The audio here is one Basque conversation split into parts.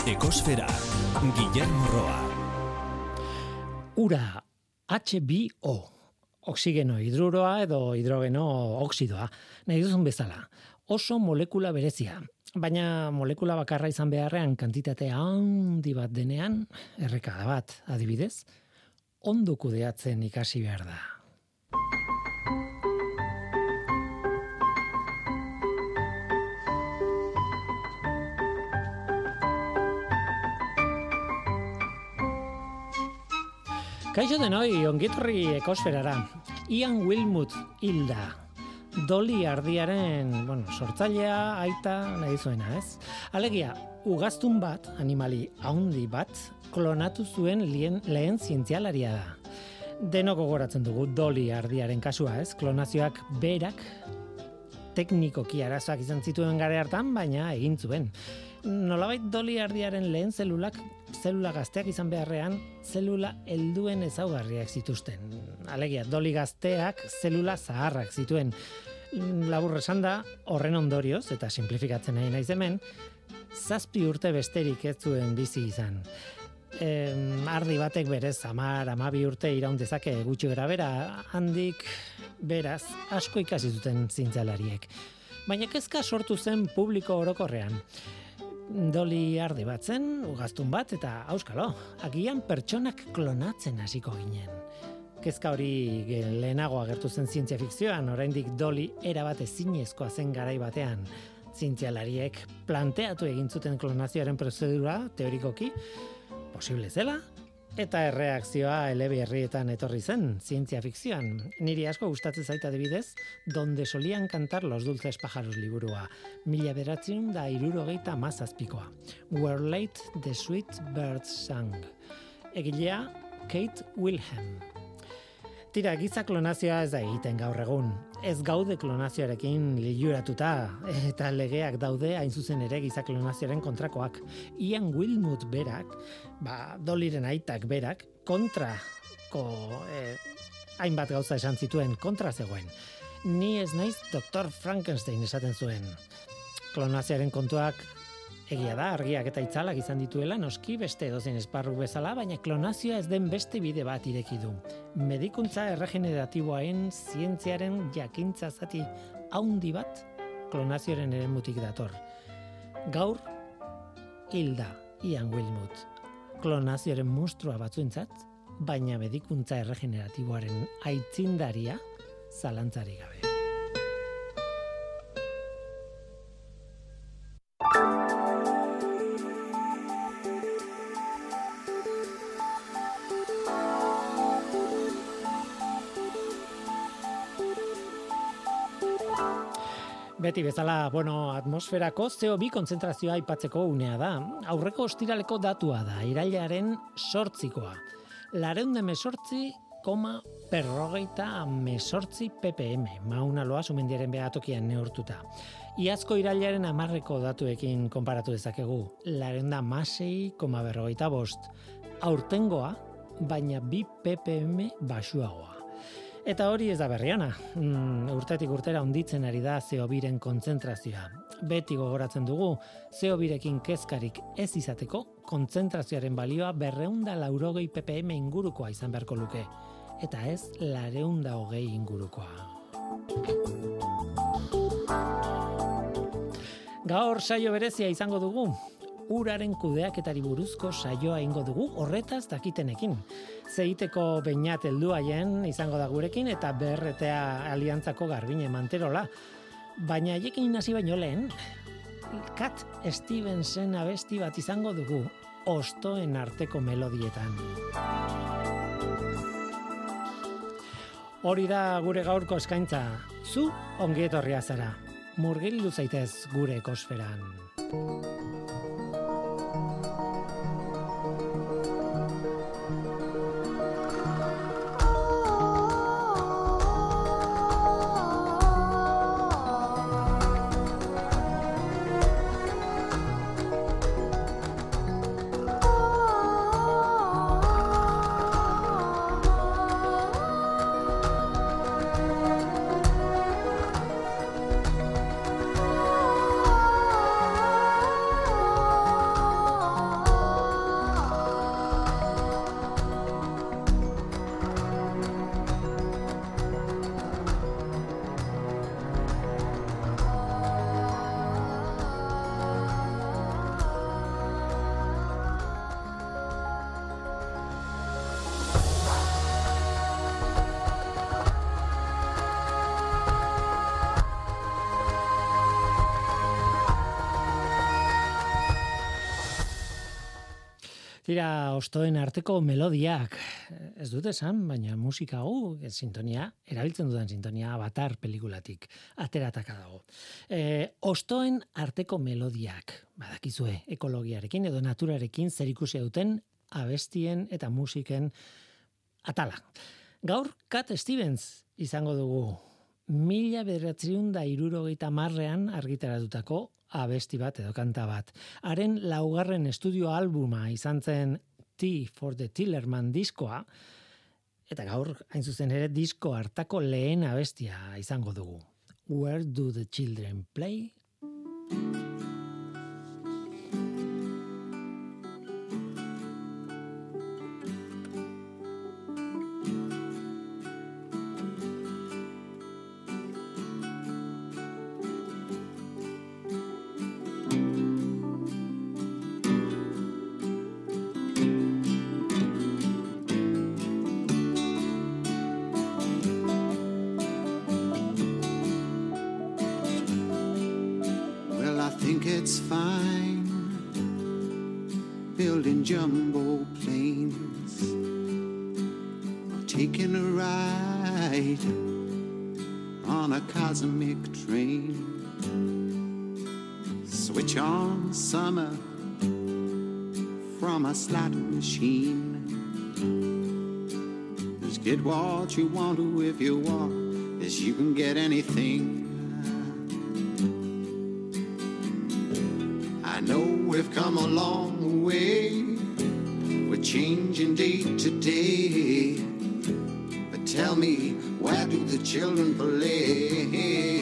Ekosfera, Guillermo Roa. Ura, H2O, oxigeno hidruroa edo hidrogeno oxidoa, nahi duzun bezala. Oso molekula berezia, baina molekula bakarra izan beharrean kantitate handi bat denean, errekada bat, adibidez, ondo kudeatzen ikasi behar da. Kaixo denoi, ongitorri ekosferara. Ian Wilmut hilda. Dolly ardiaren, sortzailea, aita, nahi zuena, ez? Alegia, ugaztun bat, animali handi bat, klonatu zuen lehen zientzialaria da. Denok gogoratzen dugu Dolly ardiaren kasua, ez? Klonazioak berak teknikoki arazoak izan zituen gare hartan, baina egin zuen. Nolabait Dolly ardiaren lehen zelula gazteak izan beharrean, zelula helduen ezaugarriak zituzten. Alegia, Dolly gazteak zelula zaharrak zituen. Labur esanda, horren ondorioz, eta simplifikatzen nahi naiz hemen, 7 urte besterik ez zuen bizi izan. Ardi batek berez 10-12 urte iraun dezake gutxi grabera, handik beraz asko ikasi zuten zientzialariek. Baina kezka sortu zen publiko orokorrean. Dolly ardi bat zen, ugaztun bat, eta auskalo, agian pertsonak klonatzen hasiko ginen. Kezka hori lehenago agertu zen zientzia fikzioan, oraindik Dolly erabat ezinezkoa zen garai batean. Zientzialariek planteatu egin zuten klonazioaren prozedura, teorikoki, posible zela, eta erreakzioa eleberrietan etorri zen, zientzia fikzioan. Niri asko gustatzen zait adibidez, Donde solían cantar los dulces pájaros liburua, 1977koa. Where late the sweet birds sang. Egilea Kate Wilhelm. Tira, giza klonazioa ez da egiten gaur egun. Ez gaude klonazioarekin liluratuta, eta legeak daude hain zuzen ere giza klonazioaren kontrakoak. Ian Wilmut berak, Dollyren aitak berak, kontrako hainbat gauza esan zituen, kontra zegoen. Ni ez naiz Dr. Frankenstein esaten zuen. Klonazioaren kontuak egia da, argiak eta itzalak izan dituela, noski beste edozein esparru bezala, baina klonazioa ez den beste bide bat ireki du. Medikuntza erregeneratiboaren zientziaren jakintza zati haundi bat klonazioaren eremutik dator. Gaur, hilda Ian Wilmut. Klonazioaren monstrua batzuentzat, baina medikuntza erregeneratiboaren aitzindaria zalantzari gabe. Beti bezala, atmosferako CO2 kontzentrazioa aipatzeko unea da. Aurreko ostiraleko datua da, irailaren 8koa. 418,48 ppm, Mauna Loa sumendiaren behatokian neurtuta. Iazko irailaren 10ko datuekin konparatu dezakegu, 416,45. Aurtengoa, baina 2 ppm baxuagoa. Eta hori ez da berriana. Urtetik urtera handitzen ari da CO2ren kontzentrazioa. Beti gogoratzen dugu, CO2rekin kezkarik ez izateko, kontzentrazioaren balioa 280 ppm ingurukoa izan beharko luke. Eta ez 220 ingurukoa. Gaur saio berezia izango dugu. Uraren kudeaketari buruzko saioa ingo dugu horretaz dakitenekin. Zeiteko Beñat helduaien izango da gurekin eta BRTA Aliantzako Garbine Manterola. Baina haiekin hasi baino lehen, Cat Stevensen abesti bat izango dugu, hostoen arteko melodietan. Hori da gure gaurko eskaintza. Zu ongi etorria zara. Murgildu zaitez gure ekosferan. Tira, ostoen arteko melodiak, ez dut esan, baina musika hau, sintonia, erabiltzen dudan sintonia Avatar pelikulatik, aterataka dago. Ostoen arteko melodiak, badakizue, ekologiarekin edo naturarekin zerikusia duten abestien eta musiken atala. Gaur, Cat Stevens izango dugu, 1970ean argitaratutako abesti bat edo kanta bat. Haren laugarren estudio albuma izan zen Tea for the Tillerman diskoa, eta gaur, hain zuzen ere, disko hartako lehen abestia izango dugu. Where do the children play? It's fine building jumbo planes or taking a ride on a cosmic train. Switch on summer from a slot machine. Just get what you want to if you want, as you can get anything. I know we've come a long way, we're changing day to day, but tell me, where do the children play?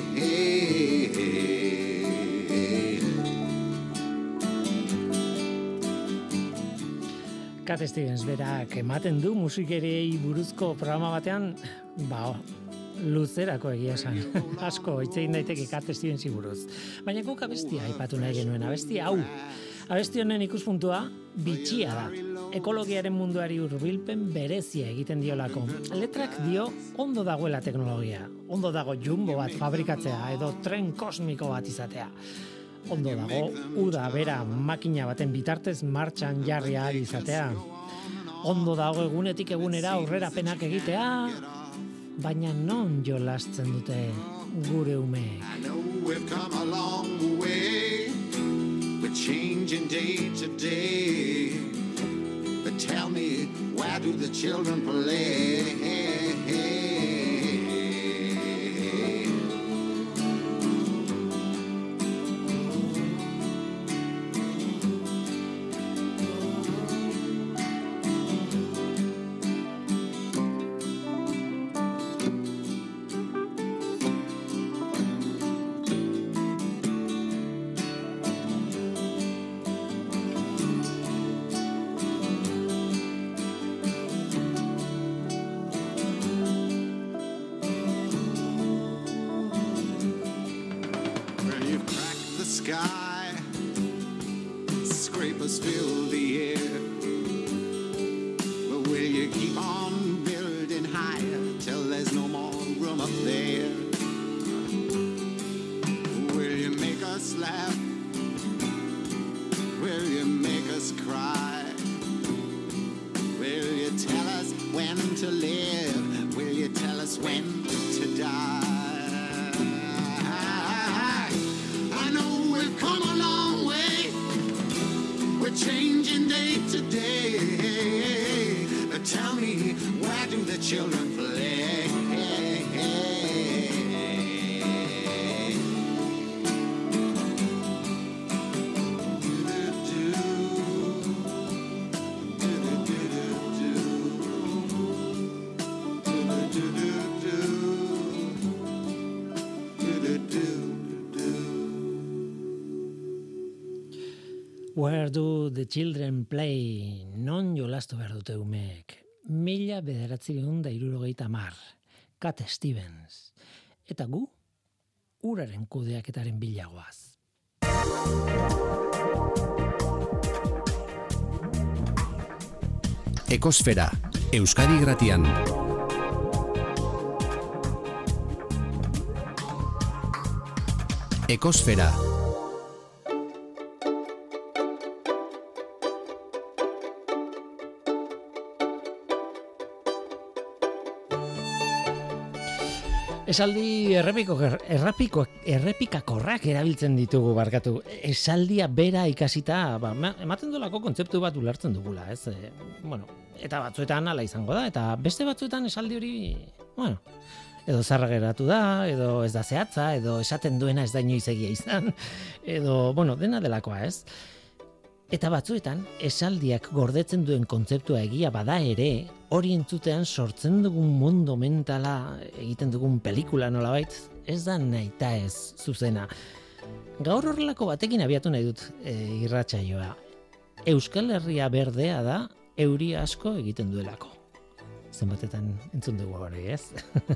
Cat Stevens berak ematen du musikeriei buruzko programa batean, luzerako egia esan. Asko hitz egin daiteke Cat Stevensi buruz. Baina guk abestia aipatu nahi genuen, abesti hau. Abesti honen ikuspuntua bitxia da. Ekologiaren munduari hurbilpen berezia egiten diolako. Letrak dio ondo dagoela teknologia. Ondo dago jumbo bat fabrikatzea edo tren kosmiko bat izatea. Ondo dago uda bera makina baten bitartez martxan jarri ahal izatea. Ondo dago egunetik egunera aurrerapenak egitea. Baina non jolasten dute gure umeek? I know we've come a long way, we're changing day to day, but tell me, where do the children play? Sky, scrapers fill the air, but will you keep on building higher till there's no more room up there? Will you make us laugh? Will you make us cry? Will you tell us when to live? Will you tell us when to die? Changing day to day, but tell me, where do the children play? Where do the children play? Non jolastu behar dute umeek. 1970. Cat Stevens. Eta gu, uraren kudeaketaren bilagoaz. Ekosfera, Euskadi Gratian. Ekosfera. Esaldi errepikakorrak erabiltzen ditugu barkatu. Esaldia bera ikasita, ematen dolako kontzeptu bat ulertzen dugula, ez? Eta batzuetan hala izango da, eta beste batzuetan esaldi hori, edo zarra geratu da, edo ez da zehatza, edo esaten duena ez da inoiz egia izan, edo, dena delakoa, ez? Eta batzuetan, esaldiak gordetzen duen kontzeptua egia bada ere, hori entzutean sortzen dugun mundu mentala, egiten dugun pelikula nolabait, ez da nahita ez zuzena. Gaur horrelako batekin abiatu nahi dut irratsaioa. Euskal Herria berdea da, euri asko egiten duelako. Zenbatetan entzun dugu hori, ez?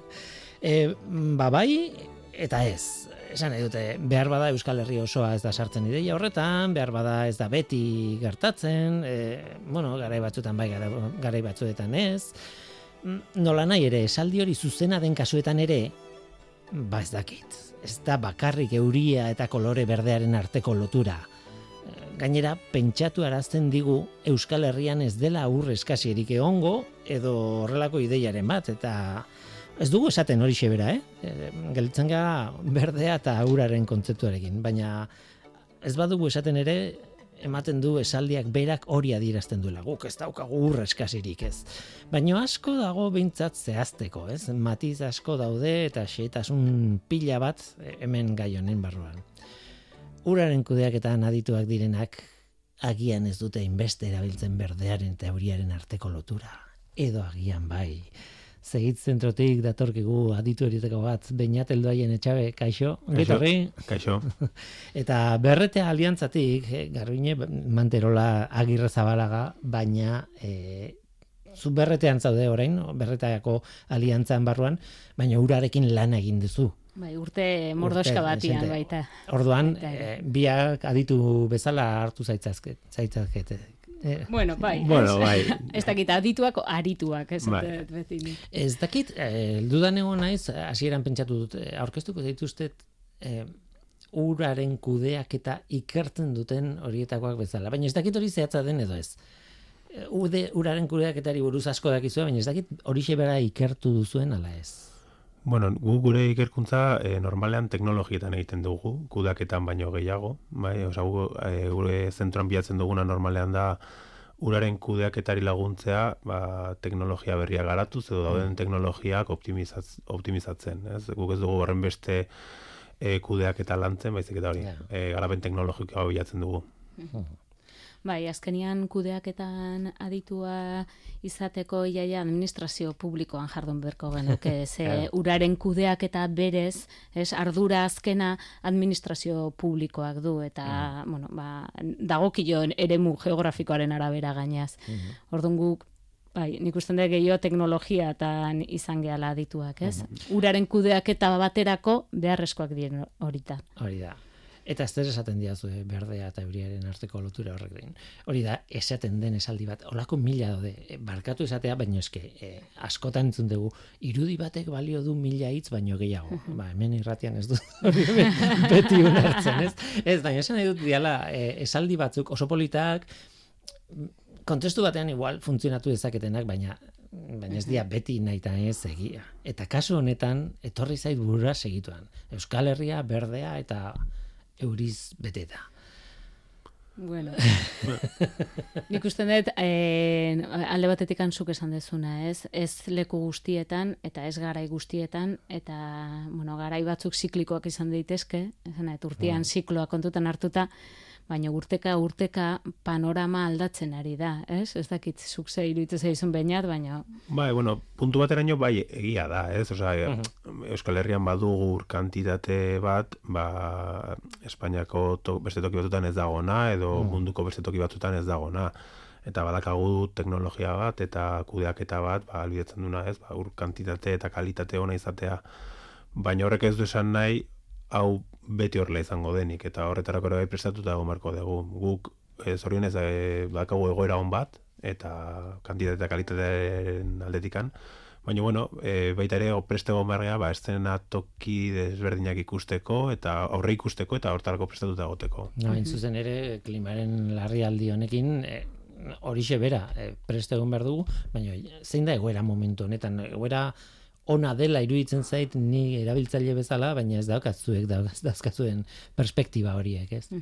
Bai, eta ez. Esan nahi dute, behar bada Euskal Herri osoa ez da sartzen ideia horretan, behar bada ez da beti gertatzen, garai batzuetan bai, garai batzuetan ez. Nola nahi ere, esaldi hori zuzena den kasuetan ere, ez dakit. Ez da bakarrik euria eta kolore berdearen arteko lotura. Gainera, pentsatu arazten digu Euskal Herrian ez dela ur eskasierik egongo, edo horrelako ideiaren bat, eta ez dugu esaten hori xebera, Gelditzen gara berdea eta uraren kontzeptuarekin, baina ez badugu esaten ere, ematen du esaldiak berak hori adierazten duela. Guk ez daukagu ur eskasirik, ez. Baina asko dago behintzat zehazteko, ez? Matiz asko daude eta xehetasun pila bat hemen gai honen barruan. Uraren kudeaketan adituak direnak agian ez dute inbeste erabiltzen berdearen eta euriaren arteko lotura. Edo agian bai. Zegit zentrotik datorkigu aditu horietako bat, Beñat Eldoaien Etxabe, kaixo, ongitorri? Kaixo. Eta Berretea Aliantzatik, Garbiñe Manterola Agirre Zabalaga, baina zu Berretean zaude orain, Berreteako Aliantzan barruan, baina urarekin lan egin duzu. Bai, urte mordoska batian baita. Orduan, biak aditu bezala hartu zaitzazkete. Bai. Ez dakit, adituak arituak, ez bai. Beti. Ez dakit, dudan egon naiz, hasieran pentsatu dut, aurkeztuko dituztet uraren kudeak eta ikertzen duten horietakoak bezala. Baina ez dakit hori zehatza den edo ez. Uraren kudeaketari buruz asko dakizu, baina ez dakit hori xebera ikertu duzuen ala ez. Gure ikerkuntza normalean teknologietan egiten dugu, kudeaketan baino gehiago, bai, gure zentroan bilatzen duguna normalean da uraren kudeaketari laguntzea, teknologia berria garatuz edo dauden teknologiak optimizatzen, ez? Guk ez dugu horren beste kudeaketa lantzen, baizik eta hori, garapen teknologikoa bilatzen dugu. Bai, azkenian kudeaketan aditua izateko iaia administrazio publikoan jardun berko genuke, ze uraren kudeaketa berez, ardura azkena administrazio publikoak du, eta, dagokio eremu geografikoaren arabera gainaz. Orduan guk, bai, nik usten dut gehiago teknologiatan izan gehala adituak, ez? Uraren kudeaketa baterako beharrezkoak diren horita. Hori da. Eta ez esaten diazu berdea eta euriaren arteko lotura horrek den. Hori da, esaten den esaldi bat, olako mila daude, barkatu esatea, baino eske, askotan entzun dugu, irudi batek balio du 1000 hitz baino gehiago. Hemen irratian ez du beti ulertzen, ez? Ez, baina esan nahi dut diala, esaldi batzuk oso politak, kontestu batean igual funtzionatu dezaketenak, baina ez dia beti nahita ez egia. Eta kasu honetan, etorri zait burura segituan. Euskal Herria, berdea eta euriz beteta. Bueno. Nik usten dut, alde batetik zuk esan dezuna, ez? Ez leku guztietan, eta ez garai guztietan, eta, garai batzuk ziklikoak izan daitezke, urtean zikloa kontutan hartuta, baina urteka panorama aldatzen ari da, ez? Ez dakit zuk ze iruditzen zaizun Beñat, baina... Bai, puntu bateraino bai egia da, ez? Euskal Herrian badugu ur kantitate bat, Espainiako beste toki batzutan ez dagona, edo munduko beste toki batzutan ez dagona. Eta badakagu teknologia bat, eta kudeaketa bat, albidetzen duna, ez? Ur kantitate eta kalitate ona izatea. Baina horrek ez du esan nahi, hau beti horrela izango denik, eta horretarako ere prestatuta egon marko dugu. Guk, zorionez, bakagu egoera on bat, eta kantitate eta kalitatearen aldetikan, baina, baita ere, preste egon bargea, eszenatoki desberdinak ikusteko, eta aurre ikusteko, eta horretarako prestatuta egoteko. Hain zuzen ere, klimaren larrialdi honekin, horixe bera, preste egon behar dugu, baina zein da egoera momentu honetan, egoera ona dela iruditzen zait ni erabiltzaile bezala, baina ez daukazuek dauzkazuen perspektiba horiek, ez?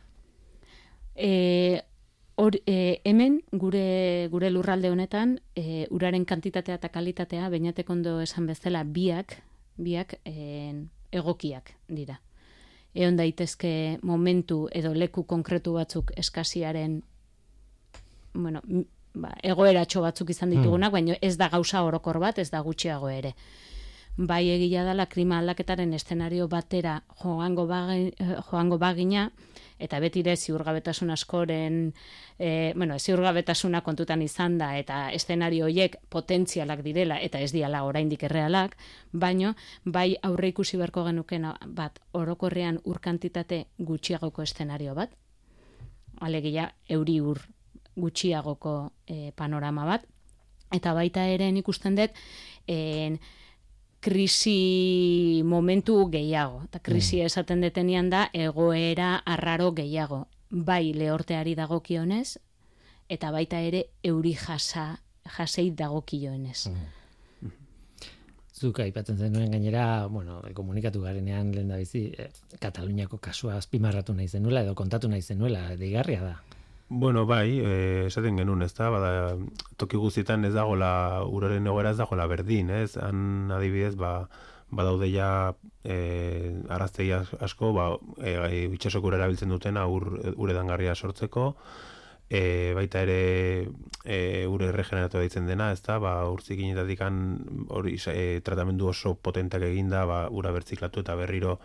Hemen gure lurralde honetan uraren kantitatea eta kalitatea beinatek ondo esan bezala biak egokiak dira. Egon daitezke momentu edo leku konkretu batzuk eskasiaren egoeratxo batzuk izan ditugunak, baina ez da gauza orokor bat, ez da gutxiago ere. Bai egia dela klima aldaketaren eszenario batera joango bagina, eta betire ziurgabetasun askoren, ziurgabetasuna kontutan izan da, eta eszenario horiek potentzialak direla, eta ez diala oraindik errealak, baino, bai aurre ikusi beharko genuken bat, orokorrean ur kantitate gutxiagoko eszenario bat, alegia euri ur gutxiagoko panorama bat, eta baita ere ikusten dut, krisi momentu gehiago. Eta krisi esaten detenean da egoera arraro gehiago. Bai lehorteari dagokionez, eta baita ere euri jasei dagokionez. Zuk aipatzen zenuen gainera, komunikatu garenean lehen da bizi, Kataluniako kasua azpimarratu nahi zenuela, edo kontatu nahi zenuela, deigarria da. Bai, esaten genuen, ez da, toki guztietan ez dagoela, uraren egoera ez dagoela berdin, ez? Han adibidez, badaude ja arraztegi asko, itxasoko ura erabiltzen dutena uredangarria sortzeko, baita ere ure regeneratu deitzen dena, ez da, urtzikinetatik hori tratamendu oso potentak eginda, ura bertziklatu eta berriro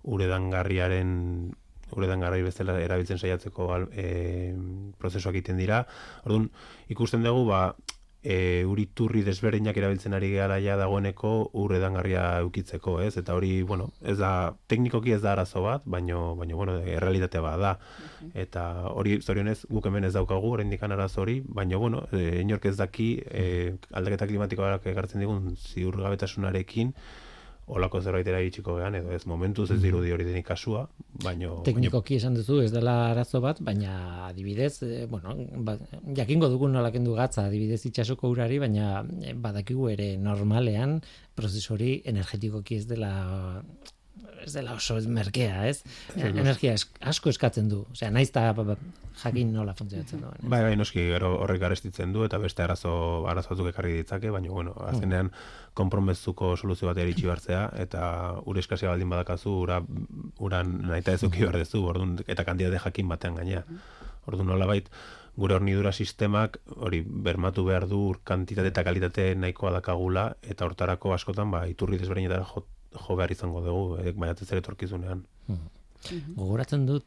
uredangarri bezala erabiltzen saiatzeko prozesuak egiten dira. Orduan, ikusten dugu, uriturri desberdinak erabiltzen ari gara ja dagoeneko uredangarria eukitzeko, ez? Eta hori, ez da, teknikoki ez da arazo bat, baino errealitatea bat da. Eta hori, zorionez, guk hemen ez daukagu, oraindik arazo hori, baino, inork ez daki, aldaketa klimatikoak ekartzen digun ziurgabetasunarekin, olako zerbaitera iritsiko gehan, edo ez momentuz ez dirudi hori denik kasua, baino... Teknikoki esan duzu, ez dela arazo bat, baina adibidez, jakingo dugun nola kendu gatza adibidez itxasoko urari, baina badakigu ere normalean prozesori energetikoki ez dela oso merkea, ez? Energia asko eskatzen du. Osea, naiz ta jakin nola funtzionatzen duen. Bai, noski, gero horrek garestitzen du, eta beste arazo batzuk ekarri ditzake, baina, azkenean konpromezuko soluzio bat eritxi bartzea, eta ure eskasia baldin badakazu, uran nahita ezuki behar dezu, eta kantitate jakin batean gainea. Orduan nolabait, gure hornidura sistemak hori bermatu behar du kantitate eta kalitate nahikoa dakagula, eta hortarako askotan iturri desberdinetara jo behar izango dugu, baiatez ere etorkizunean. Gogoratzen dut,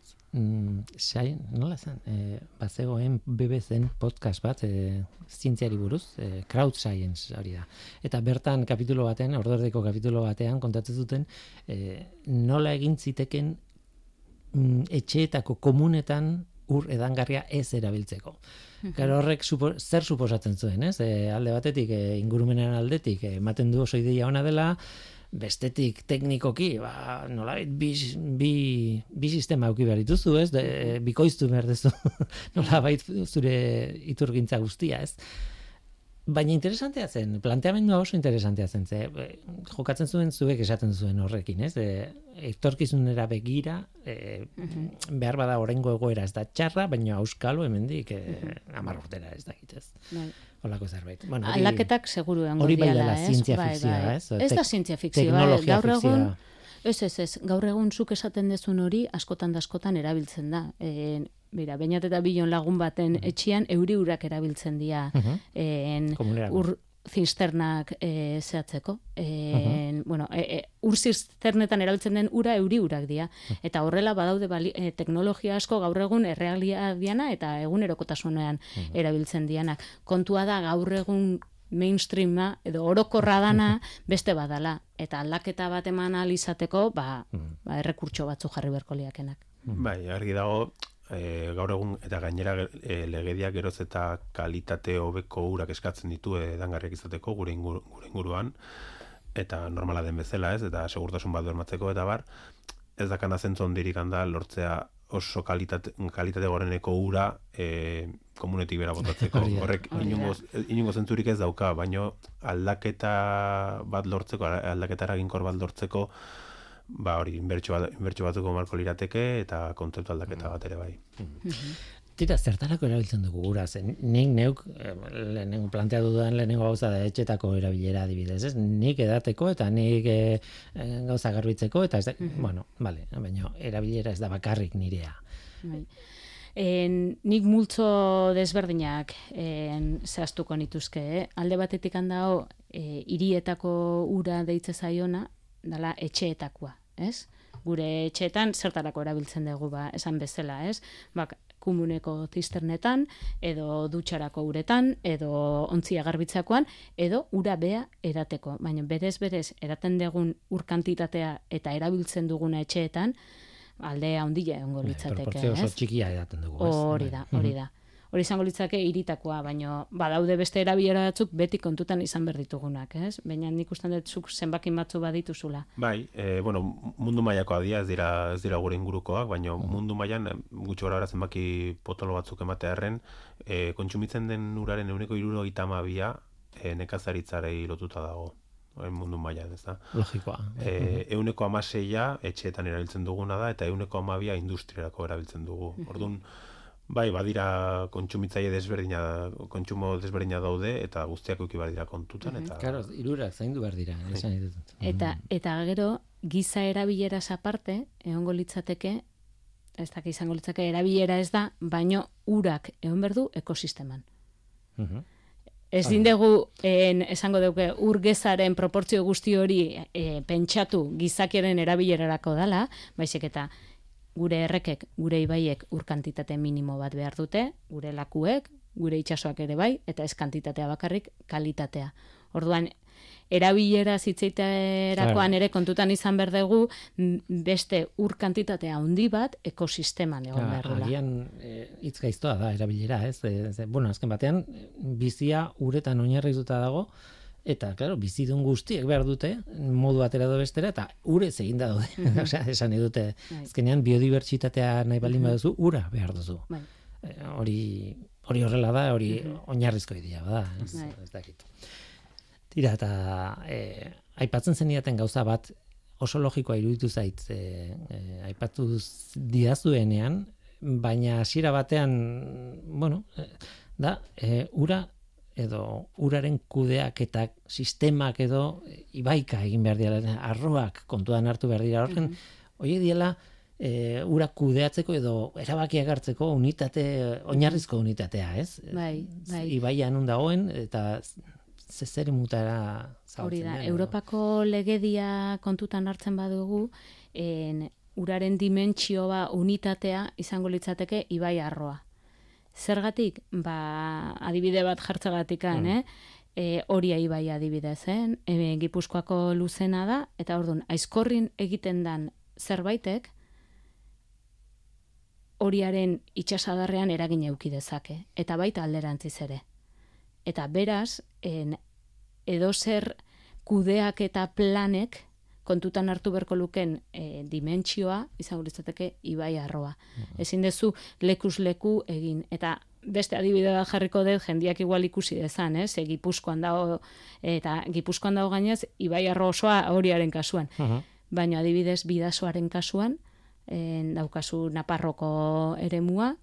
nola zen, bazegoen BBC-en podcast bat, zientziari buruz, crowd science hori da. Eta bertan kapitulo batean, ordordeko kapitulo batean, kontatzen zuten, nola egin ziteken etxeetako komunetan ur edangarria ez erabiltzeko. Gero horrek zer suposatzen zuen, ez? Alde batetik, ingurumenaren aldetik, ematen du oso ideia ona dela, bestetik teknikoki, nolabait bi sistema eduki behar dituzu, ez? Bikoiztu behar duzu, nolabait zure iturgintza guztia, ez? Baina interesantea zen, planteamendua oso interesantea zen, jokatzen zuen zuek esaten zuen horrekin, ez? Etorkizunera begira, behar bada oraingo egoera ez da txarra, baina auskalo hemendik 10 urtera ez dakitez. Holako zerbait. Aldaketak seguru egongo hori bai diala, dela zientzia fikzioa, ez? Ez da zientzia fikzioa, teknologia gaur egun fikzioa. Ez, gaur egun zuk esaten dezun hori askotan erabiltzen da. Bera, bainat eta bilon lagun baten etxian euri urak erabiltzen dira ur zisternak zehatzeko. Ur zisternetan erabiltzen den ura euri urak dira. Eta horrela badaude teknologia asko gaur egun errealia diana eta egunerokotasunean erabiltzen dianak. Kontua da gaur egun mainstreama edo orokorra dana beste badala. Eta aldaketa bat eman ahal izateko, errekurtso batzu jarri beharko liakenak. Bai, argi dago, gaur egun eta gainera legediak geroz eta kalitate hobeko urak eskatzen ditu edangarriak izateko gure inguruan, eta normala den bezala, ez, eta segurtasun bat bermatzeko, eta ez dakana zentzu hondirik handa lortzea oso kalitate goreneko ura komunetik bera botatzeko. Horrek inongo zentzurik ez dauka, baino aldaketa bat lortzeko, aldaketa eraginkor bat lortzeko, ba hori, inbertsio batzuko marko lirateke eta kontzeptu aldaketa bat ere bai. Tira, zertarako erabiltzen dugu gura, zen nik neuk lehenengo planteatu dudan lehenengo gauza da etxetako erabilera adibidez, ez? Nik edateko eta nik gauza garbitzeko eta ez da, bueno, vale, baina erabilera ez da bakarrik nirea. Nik multzo desberdinak zehaztuko nituzke, alde batetik handao hirietako ura deitze zaiona, dala etxeetakoa, ez? Gure etxeetan zertarako erabiltzen dugu, ba, esan bezala, ez? Bak, komuneko zisternetan, edo dutxarako uretan, edo ontzia garbitzakoan, edo ura bea edateko. Baina berez eraten dugun ur kantitatea eta erabiltzen duguna etxeetan, aldea handia egongo litzateke. Proportzio oso txikia edaten dugu. Hori da. Hori izango litzake hiritakoa, baina badaude beste erabilera batzuk beti kontutan izan behar ditugunak, ez? Baina nik ustean dut zuk zenbakin batzu badituzula. Bai, mundu mailakoa dira, ez dira gure ingurukoak, baina mundu mailan gutxi gora zenbaki potolo batzuk ematearren, kontsumitzen den uraren 72% nekazaritzarei lotuta dago. Mundu mailan, ez da? Logikoa. 16% etxeetan erabiltzen duguna da, eta 12% industriarako erabiltzen dugu. Orduan, bai, badira kontsumitzaile kontsumo desberdina daude, eta guztiak eduki badira kontutan. Eta... Claro, hirurak zaindu behar dira. Esan ditut. Eta gero, giza erabileraz aparte, egongo litzateke, ez da, izango litzake erabilera ez da, baino urak egon behar du ekosisteman. Ez dindegu, esango duke, urgezaren proportzio guzti hori pentsatu gizakiaren erabilerarako dala, baizik eta gure errekek, gure ibaiek ur kantitate minimo bat behar dute, gure lakuek, gure itsasoak ere bai, eta ez kantitatea bakarrik, kalitatea. Orduan, erabilera zitzeiterakoan ere kontutan izan behar dugu beste ur kantitatea handi bat ekosisteman egon behar dela. Agian hitz gaiztoa da erabilera, ez? Bueno, azken batean, bizia uretan oinarrituta dago, eta, claro, bizidun guztiek behar dute, modu batera edo bestera, eta urez egin da daude. Osea, esan edute, azkenean biodibertsitatea nahi baldin baduzu, ura behar duzu. Hori horrela da, hori oinarrizko idea da, ez dakit. Tira, eta aipatzen zenidaten gauza bat oso logikoa iruditu zait, aipatu diazuenean, baina hasiera batean, bueno, da, ura edo uraren kudeaketak sistemak edo ibaika egin behar dira, arroak kontuan hartu behar dira horren, hori diela ura kudeatzeko edo erabakiak hartzeko oinarrizko unitatea, ez? Bai. Ibaian nun dagoen, eta zer mutara zautzen. Hori da, Europako legedia kontutan hartzen badugu, uraren dimentsioa unitatea izango litzateke ibai arroa. Zergatik, adibide bat jartzagatikan, Oria ibai adibidez, Gipuzkoako luzena da, eta orduan, aizkorrin egiten dan zerbaitek, Oriaren itsasadarrean eragin eduki dezake, eta baita alderantziz ere. Eta beraz, edozer kudeak eta planek kontutan hartu berko luken dimentsioa izango litzateke ibai arroa. Ezin dezu lekuz leku egin. Eta beste adibide bat jarriko dut jendiak igual ikusi dezan, Gipuzkoan dago, eta Gipuzkoan dago gainez ibai arro osoa Oriaren kasuan. Baina adibidez Bidasoaren kasuan, daukazu Naparroko eremua,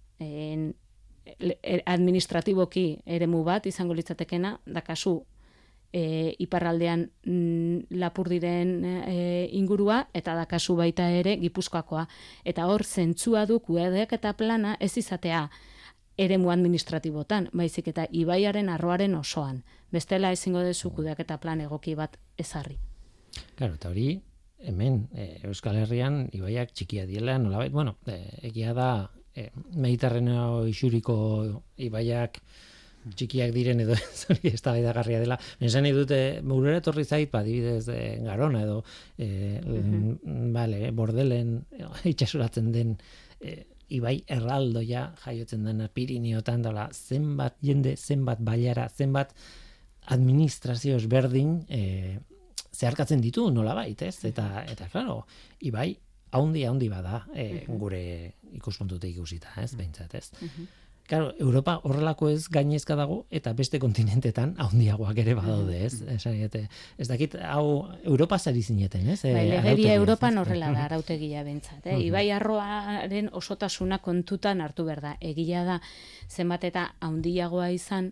administratiboki eremu bat izango litzatekena, dakazu iparraldean Lapurdiren ingurua, eta dakazu baita ere Gipuzkoakoa. Eta hor zentzua du kudeak eta plana ez izatea eremu administratibotan, baizik eta ibaiaren arroaren osoan. Bestela ezingo dezu kudeak eta plan egoki bat ezarri. Claro, eta hori, hemen, Euskal Herrian, ibaiak txikia diela, nolabait, bueno, egia da, Mediterraneo isuriko ibaiak txikiak diren edo hori eztabaidagarria dela. Esan nahi dute, burura etorri zait, adibidez Garona edo Bordelen itxasuratzen den ibai erraldoia jaiotzen dena Pirineotan, dela zenbat jende, zenbat bailara, zenbat administrazio ezberdin zeharkatzen ditu nolabait, ez? Eta claro, ibai haundi bada, gure ikuspuntutik ikusita, ez, behintzat, ez. Claro, Europa horrelako ez gainezka dago eta beste kontinentetan handiagoak ere badaude, ez? Ez dakit hau Europa zari zineten, ez? Legedia Europan horrela da arautegia bentsat, Ibai arroaren osotasuna kontutan hartu behar da. Egia da zenbat eta handiagoa izan,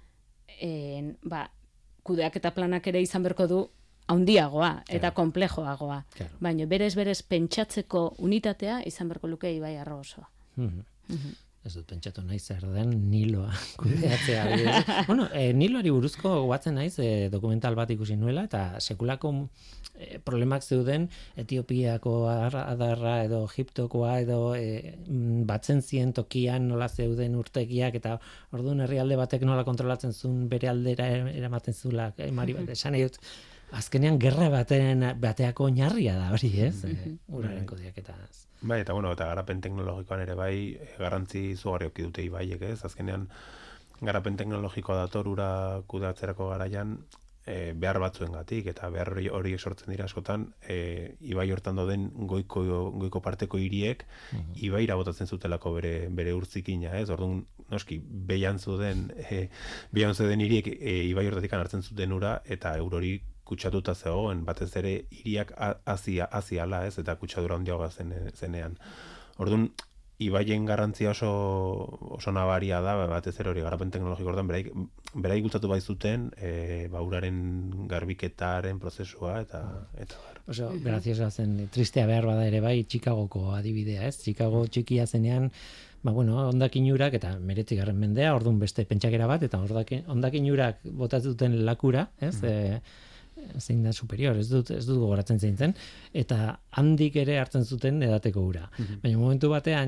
kudeaketa planak ere izan berko du handiagoa eta konplejoagoa. Baina berez pentsatzeko unitatea izan berko luke Ibai arro osoa. Ez dut pentsatu naiz zer den Niloa kudeatzea. Bueno, Niloari buruzko goatzen naiz dokumental bat ikusi nuela eta sekulako problemak zeuden Etiopiako adarra edo Egiptokoa edo batzen zien tokian nola zeuden urtegiak eta orduan herrialde batek nola kontrolatzen zuen bere aldera eramaten zula mari bat esan dut. Azkenean gerra bateako oinarria da hori, ez? Uraren kudeaketaz. Bai, eta eta garapen teknologikoan ere bai garrantzi izugarri eduki dute ibaiek, ez? Azkenean garapen teknologikoa dator ura kudeatzerako garaian behar batzuengatik eta behar hori sortzen dira askotan ibai hortan dauden goiko parteko hiriek ibaira botatzen zutelako bere urzikina, ez? Orduan noski behian zuden hiriek ibai hortatik hartzen zuten ura eta eurori kutsatuta zegoen, batez ere hiriak aziala, ez, eta kutsadura handiagoa zenean. Orduan, ibaien garrantzia oso nabaria da, batez ere hori garapen teknologiko orduan, berai gultzatu baizuten, uraren garbiketaren prozesua, eta oso, graziosa zen, tristea behar bada ere bai, Chicagoko adibidea, ez? Chicago txikia zenean, hondakin urak, eta 19. mendea, orduan beste pentsakera bat, eta hondakin urak botatzen lakura, ez? Zein da superior, ez dut gogoratzen zein zen, eta handik ere hartzen zuten edateko ura. Baina momentu batean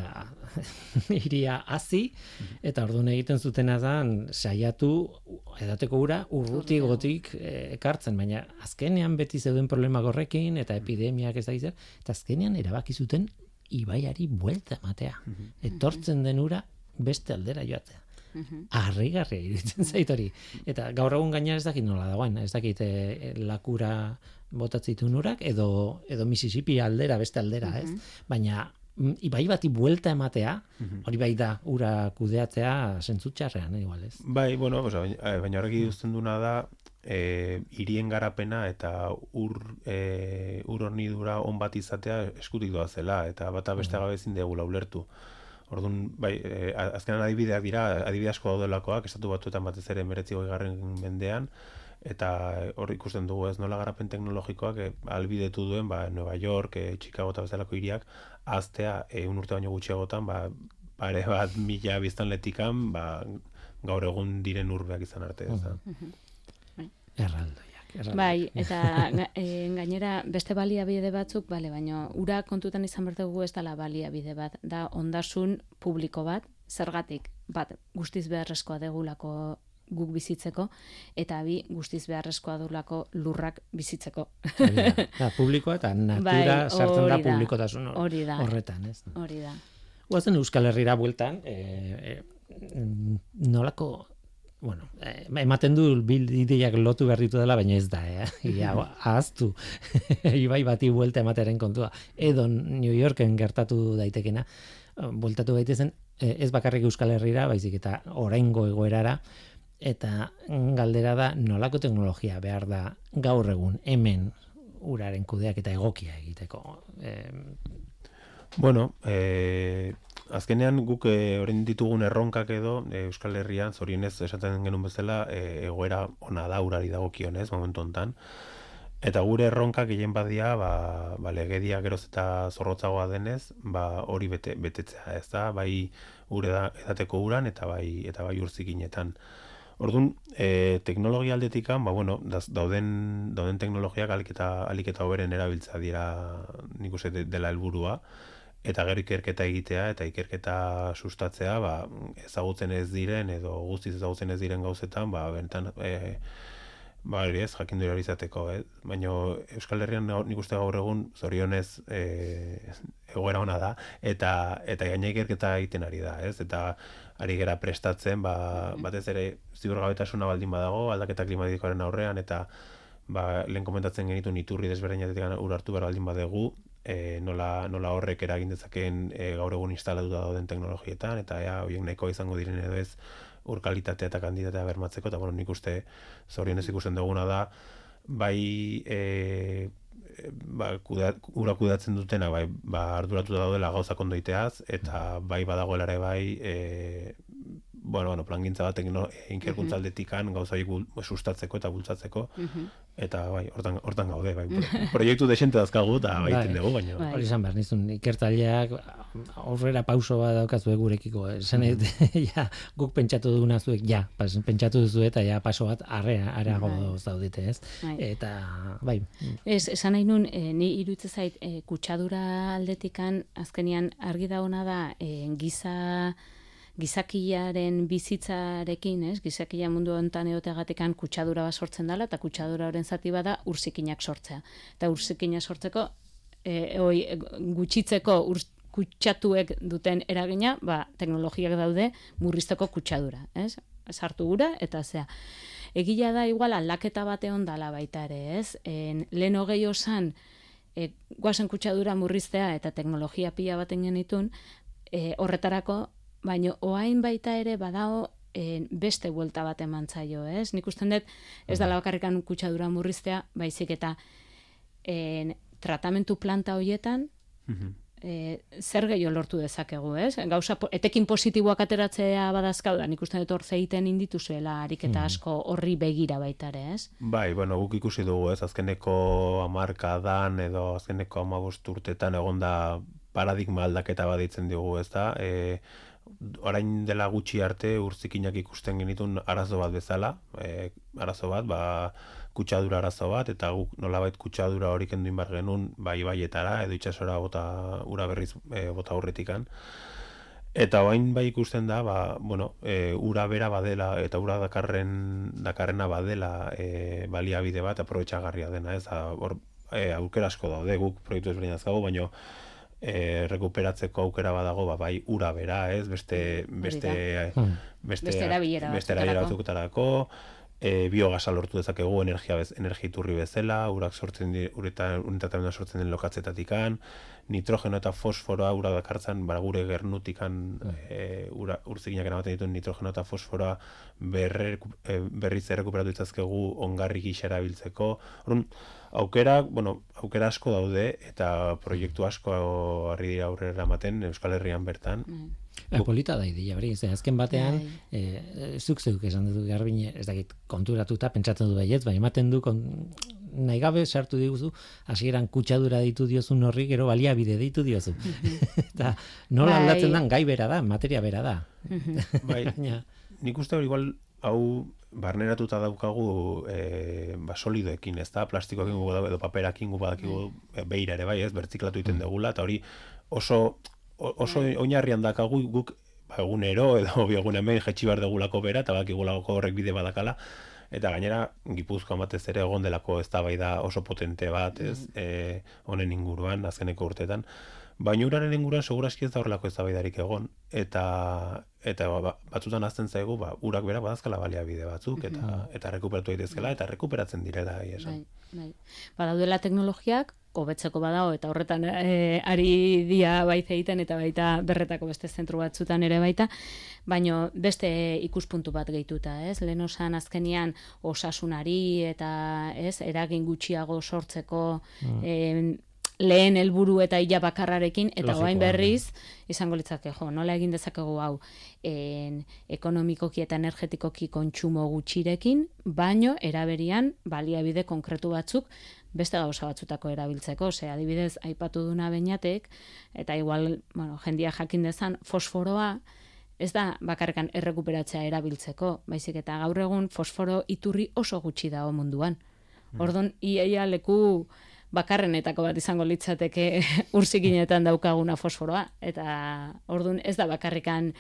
iria hazi, eta orduan egiten zutena da saiatu edateko ura urrutigotik ekartzen, baina azkenean beti zeuden problemak horrekin, eta epidemiak ez da izan, eta azkenean erabaki zuten ibaiari buelta ematea. Etortzen den ura beste aldera joatea. Harrigarria iruditzen zait hori. Eta gaur egun gainera ez dakit nola dagoen, ez dakit lakura botatzitun urak edo Mississippi aldera, beste aldera, ez? Baina ibai bati buelta ematea, hori bai da ura kudeatzea zentzutxarrean, igual, ez? Bai, baina horrek iduzten duna da hirien garapena eta ur hornidura on bat izatea eskutik doa zela, eta bata beste gabe ezin degula ulertu. Orduan, bai, azkenan adibideak dira, adibide asko daudelakoak, estatu batuetan batez ere 19. mendean, eta hor ikusten dugu ez nola garapen teknologikoak albidetu duen, Nueva York, Chicago eta bezalako hiriak, aztea, urte baino gutxiagotan, pare bat 1000 biztanletikan, gaur egun diren urbeak izan arte. Erraldoiak. Bai, eta gainera beste baliabide batzuk, baina ura kontutan izan behar dugu ez dela baliabide bat, da ondasun publiko bat, zergatik, bat guztiz beharrezkoa degulako guk bizitzeko, eta bi guztiz beharrezkoa dugulako lurrak bizitzeko. Publikoa eta natura sartzen da publikotasun horretan, ez? Hori da. Guazen Euskal Herrira bueltan, nolako ematen du ideiak lotu berritu dela, baina ez da, ahaztu ibai bati buelta ematearen kontua. Edo New Yorken gertatu daitekena, bueltatu gaitezen, ez bakarrik Euskal Herrira, baizik eta oraingo egoerara, eta galdera da nolako teknologia behar da gaur egun hemen uraren kudeak eta egokia egiteko. Azkenean guk orain ditugun erronkak edo Euskal Herrian zorionez esaten genuen bezala egoera ona da urari dagokionez momentu hontan. Eta gure erronkak gehien badia, legedia geroz eta zorrotzagoa denez, hori betetzea, ez da, bai edateko uran eta bai urzikinetan. Orduan, teknologia aldetikan, dauden teknologiak alik eta hoberen erabiltza dira nik uste dela helburua, eta gero ikerketa egitea eta ikerketa sustatzea, ezagutzen ez diren edo guztiz ezagutzen ez diren gauzetan, bentan jakindu izateko, baina Euskal Herrian nik uste gaur egun zorionez egoera ona da, eta gaina ikerketa egiten ari da, eta ari gera prestatzen, batez ere ziurgabetasuna baldin badago, aldaketa klimatikoaren aurrean, eta lehen komentatzen genituen iturri desberdinetik ur hartu behar baldin badegu, nola horrek eragin dezakeen gaur egun instalatuta dauden teknologietan, eta horiek nahiko izango diren edo ez ur kalitatea eta kantitatea bermatzeko, eta nik uste zorionez ikusten duguna da, bai ura kudeatzen dutena, arduratuta daudela gauzak ondoiteaz, eta bai badagoela ere bai plangintza bat inkerkuntza aldetikan gauza horiek sustatzeko eta bultzatzeko, eta bai, hortan gaude, bai, proiektu desente dazkagu, eta bai iten dugu, baina. Hori izan behar, nizun, ikertzaileak aurrera pauso bat daukazue gurekiko, esan guk pentsatu duguna zuek, pentsatu duzu eta paso bat areago zaudite, ez? Eta, bai. Esan nahi nun, ni iruditzen zait, kutsadura aldetikan, azkenian argi dauna da, gizakiaren bizitzarekin, gizakia mundu honetan egoteagatekan kutsadura bat sortzen dela, eta kutsadura horren zati bada urzikinak sortzea. Eta urzikinak sortzeko, gutxitzeko kutsatuek duten eragina, teknologiak daude murrizteko kutsadura, sartu gura, eta zea. Egia da, igual, aldaketa bate ondala baita ere, lehen hogei osan, guazen kutsadura murriztea eta teknologia pila baten genitun, horretarako, baina oain baita ere badao beste buelta bat eman zaio, ez? Nik usten dut, ez dela bakarrikan kutsadura murriztea, baizik eta tratamentu planta horietan, zer gehiago lortu dezakegu, ez? Gauza, etekin positiboak ateratzea badazkau da, nik usten dut hor zeiten inditu zuela ariketa asko horri begira baita ere, ez? Bai, guk ikusi dugu, ez? Azkeneko 10 edo azkeneko 15 urtetan egonda paradigma aldaketa baditzen dugu, ez da? Orain dela gutxi arte urzikinak ikusten genitun arazo bat bezala, arazo bat, kutsadura arazo bat, eta guk nolabait kutsadura hori kenduin bar genuen, ibaietara, edo itxasora ura berriz bota aurretikan. Eta orain ikusten da, ura bera badela, eta ura dakarrena badela baliabide bat, aprobetxagarria dena, ez? Aukera asko daude, guk proiektu ezberdin azkago, baina rekuperatzeko aukera badago, bai ura bera, ez? Beste erabilera batzuketarako, biogasa lortu dezakegu energia iturri bezala, urak sortzen unitate sortzen den lokatzetatik, nitrogeno eta fosforoa ura dakartzan, gure gernutikan urzikinak eramaten dituen nitrogeno eta fosforoa berriz errekuperatu ditzazkegu ongarri gisa erabiltzeko. Aukera asko daude eta proiektu asko harri dira aurrera eramaten Euskal Herrian bertan. Polita da idea hori, azken batean zuk esan dut Garbine, ez dakit konturatuta pentsatzen du baietz, baina ematen du nahi gabe sartu diguzu, hasieran kutsadura ditu diozun horri, gero baliabide ditu diozu. Eta nola aldatzen den gai bera da, materia bera da. Bai, nik uste hori igual hau barneratuta daukagu solidoekin, ez da, plastikoekin gugu edo paperakin gugu badakigu beira ere bai, ez, bertziklatu iten degula, eta hori oso oinarrian dakagu guk egunero edo biogun hemen jetxi bar degulako bera, eta bakigulako horrek bide badakala, eta gainera Gipuzkoan batez ere egon delako eztabaida oso potente bat, ez, honen inguruan, azkeneko urteetan, baina uraren inguruan segurazki ez da horrelako eztabaidarik egon, eta batzutan azten zaigu, urak bera badazkala baliabide batzuk, eta rekuperatu daitezkela, eta rekuperatzen direla, esan. Badaudela teknologiak, hobetzeko badago, eta horretan ari dia baita egiten, eta baita berretako beste zentru batzutan ere baita, baino beste ikuspuntu bat gehituta, ez? Lehen osan azkenian osasunari eta eragin gutxiago sortzeko lehen helburu eta ila bakarrarekin, eta orain berriz izango litzake, nola egin dezakegu hau ekonomikoki eta energetikoki kontsumo gutxirekin, baino eraberian baliabide konkretu batzuk beste gauza batzutako erabiltzeko, adibidez aipatu duna Beñatek, eta igual, jendia jakin dezan, fosforoa ez da bakarrekan errekuperatzea erabiltzeko, baizik eta gaur egun fosforo iturri oso gutxi dago munduan. Ordon iaia leku bakarrenetako bat izango litzateke urzikinetan daukaguna fosforoa, eta ordun ez da bakarrikan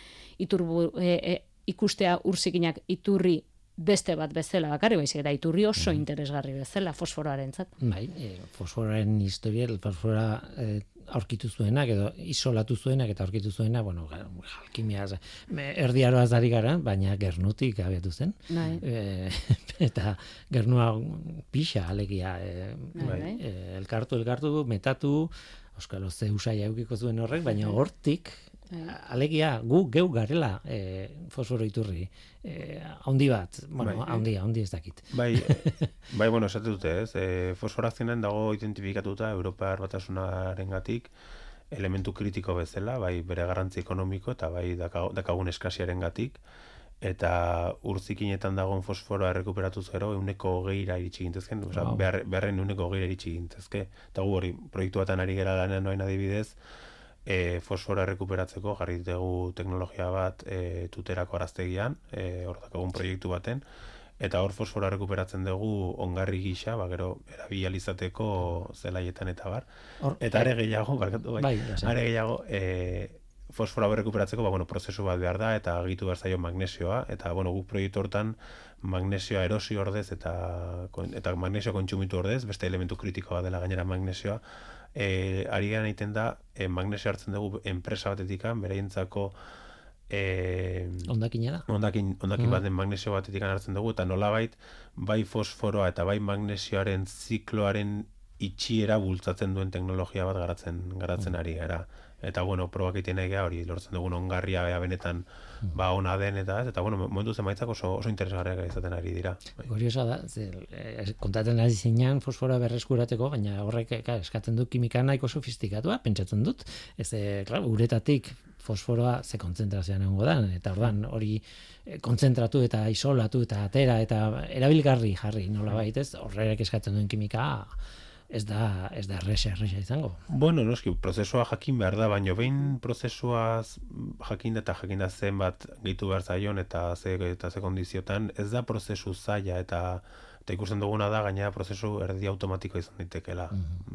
ikustea urzikinak iturri beste bat bezala bakarri, baizik eta iturri oso interesgarri bezala fosforoarentzat. Bai, fosforoaren historia, fosforoa aurkitu zuenak edo isolatu zuenak eta aurkitu zuena, alkimia erdiaroaz ari gara, baina gernutik abiatu zen. Eta gernua pixa alegia elkartu, metatu, Euskalo ze usaia eukiko zuen horrek, baina hortik, alegia, gu geu garela fosforo iturri. Haundi bat, bueno, haundi ez dakit. Bai, bueno, esate dute, ez? Fosforazioan dago identifikatuta Europar Batasunarengatik elementu kritiko bezala, bai bere garrantzi ekonomiko eta bai dakagun eskasiarengatik. Eta urzikinetan dagoen fosforoa errekuperatuz gero 20%ra iritsi gintezken, beharren 20%ra iritsi gintezke. Eta gu hori, proiektu batan ari gera lanean noain adibidez, fosforoa errekuperatzeko jarri dugu teknologia bat tuterako araztegian, hor dakagun proiektu baten, eta hor fosforoa errekuperatzen dugu ongarri gisa, gero erabilizateko zelaietan eta bar. Eta are gehiago, are gehiago, fosforoa berrekuperatzeko, prozesu bat behar da, eta agitu behar zaio magnesioa, eta, guk proiektu hortan magnesioa erosi ordez, eta magnesio kontsumitu ordez, beste elementu kritikoa dela gainera magnesioa, ari garen egiten da, magnesio hartzen dugu enpresa batetikan, bereientzako ondakina da? Ondakin baten magnesio batetikan hartzen dugu, eta nolabait, bai fosforoa eta bai magnesioaren zikloaren itxiera bultzatzen duen teknologia bat garatzen ari gara. Eta, probak egiten egea hori lortzen dugun ongarria benetan ona den eta momentu zemaitzak oso interesgarriak izaten ari dira. Kuriosa da, kontatzen ari zinean fosforoa berreskurateko, baina horrek eskatzen du kimika nahiko sofistikatua, pentsatzen dut. Uretatik fosforoa ze kontzentrazioan egongo da, eta ordan hori kontzentratu eta isolatu eta atera eta erabilgarri jarri nolabait, ez? Horrek eskatzen duen kimika ez da erresa izango. Noski, prozesua jakin behar da, baina behin prozesuaz jakin da zenbat gehitu behar zaion eta ze kondiziotan, ez da prozesu zaila eta ikusten duguna da gainera prozesu erdi automatiko izan daitekela.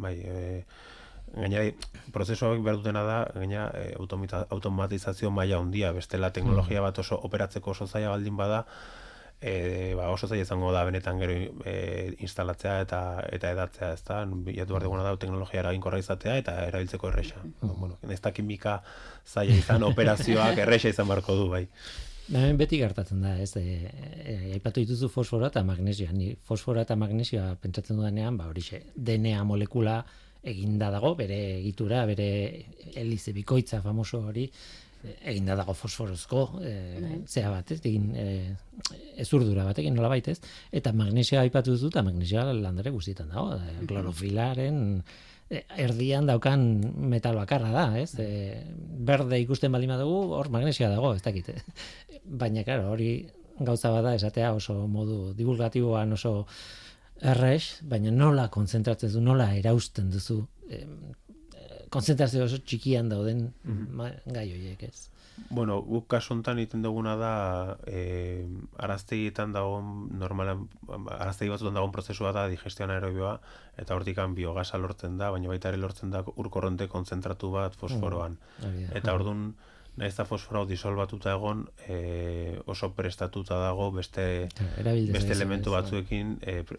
Gainera, prozesua behar dutena da, gainera, automatizazio maila handia, bestela teknologia bat oso operatzeko oso zaila baldin bada, oso zaila izango da benetan gero instalatzea eta edatzea, ez da? Bilatu behar duguna da teknologia eraginkorra izatea eta erabiltzeko erresa. Ez da kimika zaila izan, operazioak erresa izan beharko du, bai. Beti gertatzen da, ez? Aipatu dituzu fosforoa eta magnesioa. Ni fosforoa eta magnesioa pentsatzen dudanean, horixe, DNA molekula eginda dago, bere egitura, bere helize bikoitza famoso hori, eginda dago fosforozko zea bat, ez? Ezurdura batekin nolabait, ez? Eta magnesioa aipatu duzu, eta magnesioa landare guztietan dago, klorofilaren erdian daukan metal bakarra da, ez? Berde ikusten baldin badugu, hor magnesioa dago, ez dakit. Baina, claro, hori gauza bada esatea oso modu divulgatiboan oso erres, baina nola kontzentratzen duzu, nola erausten duzu konzentrazio oso txikian dauden gai horiek, ez? Guk kasu honetan egiten duguna da araztegietan dagoen araztegi batzutan dagoen prozesua da digestio anaerobioa eta hortikan biogasa lortzen da, baina baita ere lortzen da ur-korronte kontzentratu bat fosforoan. Eta orduan nahiz eta fosforoa disolbatuta egon oso prestatuta dago beste elementu batzuekin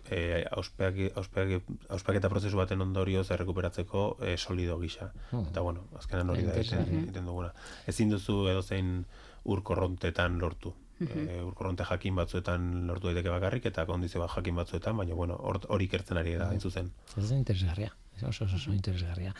auspaketa prozesu baten ondorioz errekuperatzeko solido gisa. Eta azkenan hori da egiten duguna. Ezin duzu edozein ur-korrontetan lortu. Ur-korronte jakin batzuetan lortu daiteke bakarrik eta kondizio bat jakin batzuetan, baina hori ikertzen ari da, hain zuzen. Ez da interesgarria. Oso interesgarria.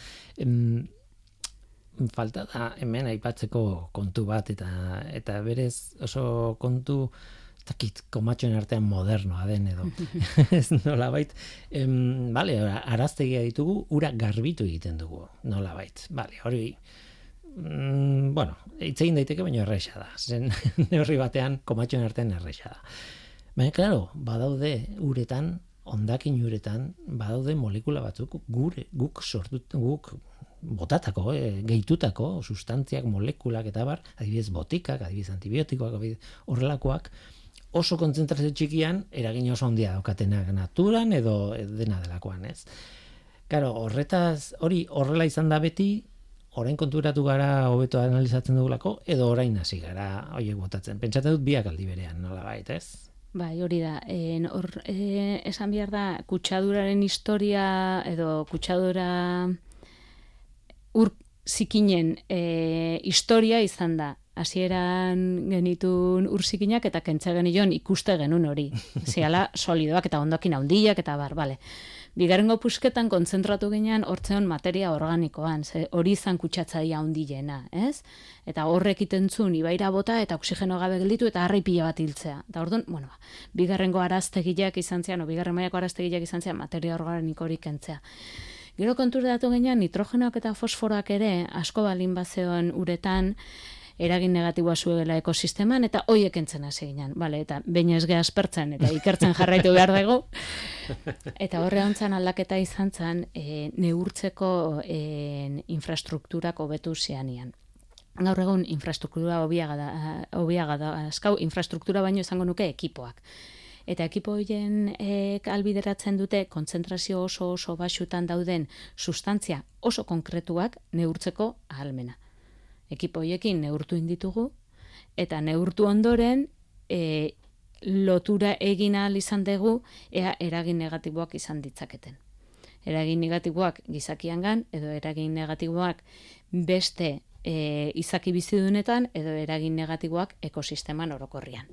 Falta da hemen aipatzeko kontu bat eta berez oso kontu komatxoen artean modernoa den edo ez nolabait araztegia ditugu, ura garbitu egiten dugu nolabait, hori hitz egin daiteke baina erresa da, zen neurri batean komatxoen artean erresa da, baina claro, badaude uretan, hondakin uretan badaude molekula batzuk guk botatako, gehitutako sustantziak, molekulak eta bar, adibidez botikak, adibidez antibiotikoak, horrelakoak, oso kontzentrazio txikian eragin oso handia daukatenak naturan edo dena delakoan, ez? Claro, hori horrela izan da beti, orain konturatu gara hobeto analizatzen dugulako, edo orain hasi gara horiek botatzen. Pentsatzen dut biak aldi berean, nolabait, ez? Bai, hori da. Esan behar da, kutsaduraren historia edo kutsadura ur zikinen historia izan da. Hasieran genitun ur zikinak eta kentza genion ikuste genuen hori. Ziala solidoak eta ondokin handiak eta bar, bale. Bigarrengo pusketan kontzentratu ginean hortzeon materia organikoan, hori izan kutsatzaia handiena, ez? Eta horrek itentzun ibaira bota eta oksigeno gabe gelditu eta harri pila bat hiltzea. Eta orduan, bueno, bigarrengo araztegiak izan zean, bigarren mailako araztegiak izan zean materia organikorik kentzea. Gero konturatu ginean nitrogenoak eta fosforoak ere asko balin bazeon uretan eragin negatiboa zuela ekosisteman, eta hoiek entzen hasi ginen. Vale, eta baina ez geha aspertzen, eta ikertzen jarraitu behar dugu. Eta horre hontzan aldaketa izan zen, neurtzeko infrastrukturak hobetu zeanian. Gaur egun infrastruktura hobiaga da, azkau, infrastruktura baino izango nuke ekipoak. Eta ekipo horien albideratzen dute kontzentrazio oso baxutan dauden sustantzia oso konkretuak neurtzeko ahalmena. Ekipo horiekin neurtu inditugu, eta neurtu ondoren lotura egin ahal izan dugu ea eragin negatiboak izan ditzaketen. Eragin negatiboak gizakiangan, edo eragin negatiboak beste izaki bizidunetan, edo eragin negatiboak ekosisteman orokorrian.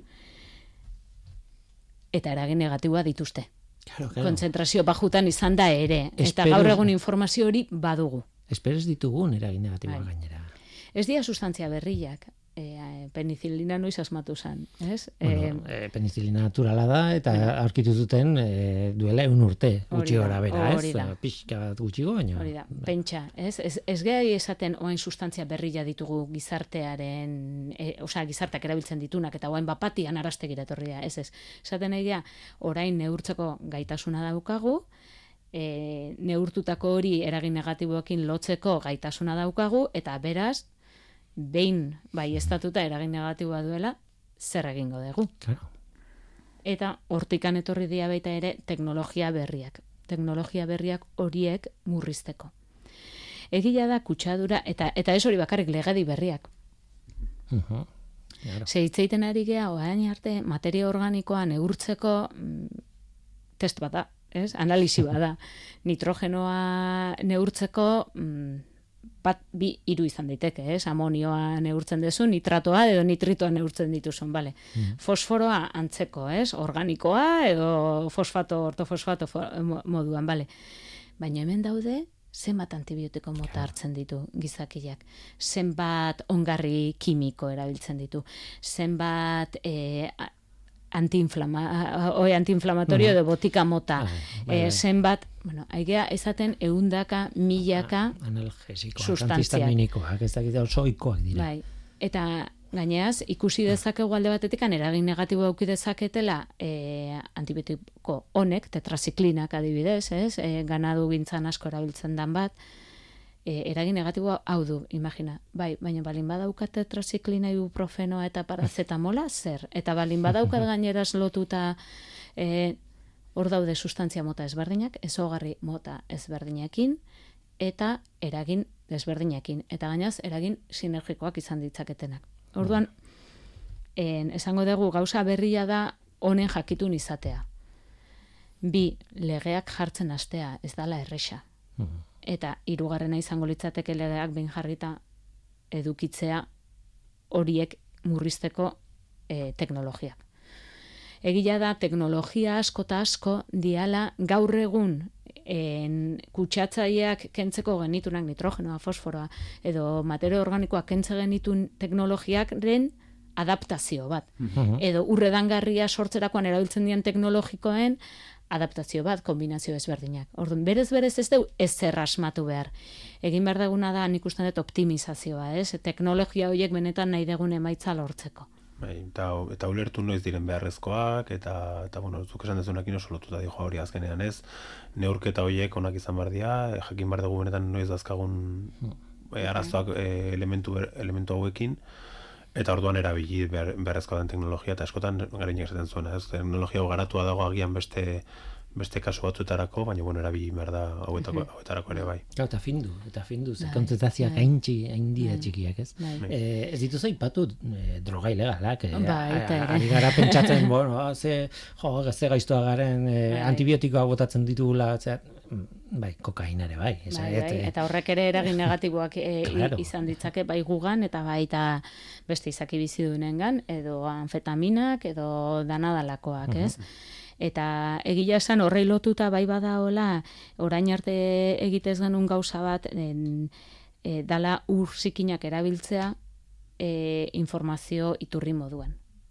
Eta eragin negatiboa dituzte. Claro. Kontzentrazio bajutan izan da ere. Eta gaur egun informazio hori badugu. Esperez ditugun eragin negatiboa gainera. Ez dira sustantzia berriak. Penicilina noiz asmatu zen, ez? Bueno, penicilina naturala da, eta aurkitu zuten duela 1 urte, gutxi gora bera, ez? Pixka bat gutxiko, baina. Hori da, pentsa, ez? Ez gehi esaten oain sustantzia berria ditugu gizartearen, gizarteak erabiltzen ditunak, eta oain bapatian arrastegira etorri da, ez? Esaten nahi da, orain neurtzeko gaitasuna daukagu, neurtutako hori eragin negatiboekin lotzeko gaitasuna daukagu, eta beraz, behin bai estatuta eragin negatiboa duela, zer egingo dugu. Claro. Eta hortikan etorri dira baita ere teknologia berriak. Teknologia berriak horiek murrizteko. Egia da kutsadura, eta ez hori bakarrik legedi berriak. Claro. Zeitzeiten ari gea, orain arte, materia organikoa neurtzeko test bat da, ez? Analisi bat da. Nitrogenoa neurtzeko bat, 2, 3 izan daiteke, ez? Amonioa neurtzen duzu, nitratoa edo nitritoa neurtzen dituzun, bale. Fosforoa antzeko, ez? Organikoa edo fosfato, ortofosfato moduan, bale. Baina hemen daude, zenbat antibiotiko mota hartzen ditu gizakiak, zenbat ongarri kimiko erabiltzen ditu, zenbat antiinflamatorio edo botika mota, zenbat, aigea ezaten 100, 1000 analgesikoak, antihistaminikoak, ez dakit oso ohikoak dira. Bai, eta gaineaz, ikusi dezakegu alde batetik eragin negatibo eduki dezaketela antibiotiko honek, tetraziklinak adibidez, ez? Ganadu gintzan asko erabiltzen dan bat, eragin negatiboa hau du, imagina. Bai, baina balin badaukat tetraziklina, ibuprofenoa eta parazetamola, zer? Eta balin badaukat gaineraz lotuta hor daude sustantzia mota ezberdinak, ezaugarri mota ezberdinekin, eta eragin desberdinekin. Eta gainaz, eragin sinergikoak izan ditzaketenak. Orduan, esango dugu gauza berria da honen jakitun izatea. 2, legeak jartzen hastea, ez dala erresa. Eta 3. izango litzateke legeak behin jarrita edukitzea horiek murrizteko teknologiak. Egia da, teknologia asko eta asko diala gaur egun kutsatzaileak kentzeko genitunak nitrogenoa, fosforoa, edo materia organikoak kentze genitun teknologiakren adaptazio bat. Edo urredangarria sortzerakoan erabiltzen dian teknologikoen adaptazio bat, kombinazio ezberdinak. Orduan, berez ez du ezer asmatu behar. Egin behar duguna da, nik uste dut optimizazioa, ez? Teknologia horiek benetan nahi dugun emaitza lortzeko. Eta ulertu noiz diren beharrezkoak, eta bueno, zuk esan dezunakin oso lotuta dijo hori azkenean, ez? Neurketa horiek onak izan behar dira, jakin behar dugu benetan noiz dazkagun arazoak elementu hauekin, eta orduan erabili beharrezkoa den teknologia, eta askotan garinek esaten zuena, ez? Teknologia hau garatua dago agian beste kasu batzuetarako, baina bueno, erabili behar da hauetarako ere bai. Eta findu, ze kontzentrazioak haindia txikiak, ez? Ez dituzu aipatu droga ilegalak, ari gara pentsatzen, bueno, ze gaiztoa garen antibiotikoa botatzen ditugula, bai, kokaina ere bai. Eta horrek ere eragin negatiboak izan ditzake bai gugan, eta baita beste izaki bizidunengan, edo anfetaminak, edo danadalakoak, ez? Eta egia esan horrei lotuta bai badaola, orain arte egitez genuen gauza bat, dala ur zikinak erabiltzea informazio iturri moduan.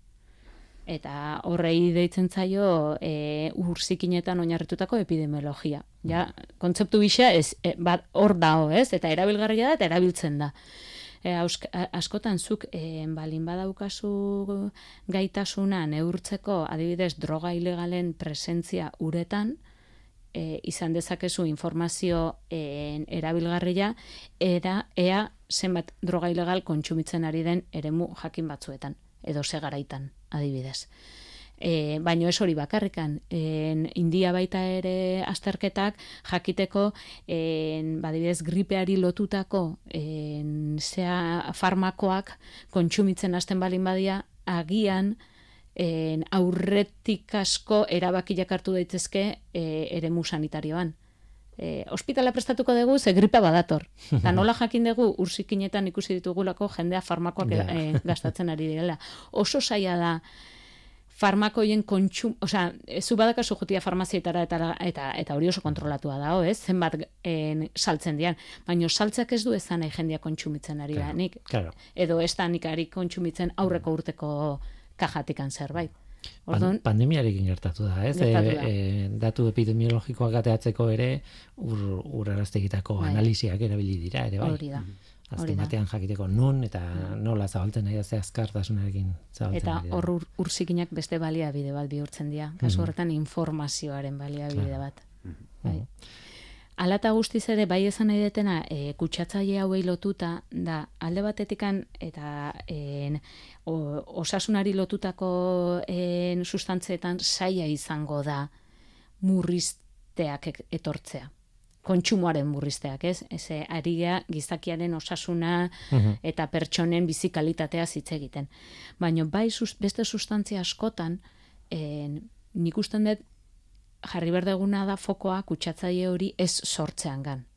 Eta horrei deitzen zaio ur zikinetan oinarritutako epidemiologia. Ja, kontzeptu bisa hor dao, ez? Eta erabilgarria da eta erabiltzen da. Askotan zuk balin badaukazu gaitasuna neurtzeko adibidez droga ilegalen presentzia uretan, izan dezakezu informazio erabilgarria ea zenbat droga ilegal kontsumitzen ari den eremu jakin batzuetan, edo segaraitan adibidez. Baino ez hori bakarrikan, India baita ere azterketak jakiteko badibidez gripeari lotutako farmakoak kontsumitzen hasten balin badia agian aurretik asko erabakiak hartu daitezke eremu sanitarioan. Ospitala prestatuko dugu ze gripa badator. Eta nola jakin dugu urzikinetan ikusi ditugulako jendea farmakoak gastatzen ari direla. Oso zaila da farmakoien kontsum, zu badakazu jotia farmazietara eta hori oso kontrolatua dago, ez? Zenbat saltzen dian. Baina saltzeak ez du ezan nahi jendea kontsumitzen ari da. Nik, edo ez da nik ari kontsumitzen aurreko urteko kajatikan zerbait. Pandemiarekin gertatu da, ez? Datu epidemiologikoak ateatzeko ere uraraztegitako analisiak erabili dira, ere bai. Hori da. Azken batean jakiteko nun eta nola zabaltzen nahi ze azkartasunarekin zabaltzen eta hor urzikinak beste baliabide bat bihurtzen dira. Kasu horretan informazioaren baliabide bat. Hala eta guztiz ere bai esan nahi detena kutsatzaile hauei lotuta da alde batetikan eta osasunari lotutako sustantzeetan zaila izango da murrizteak etortzea. Kontsumoaren murrizteak, ez? Ari gea gizakiaren osasuna eta pertsonen bizi kalitatea hitz egiten. Baina bai beste sustantzia askotan nik usten dut jarri berdeguna da fokoa kutsatzaile hori ez sortzeangan.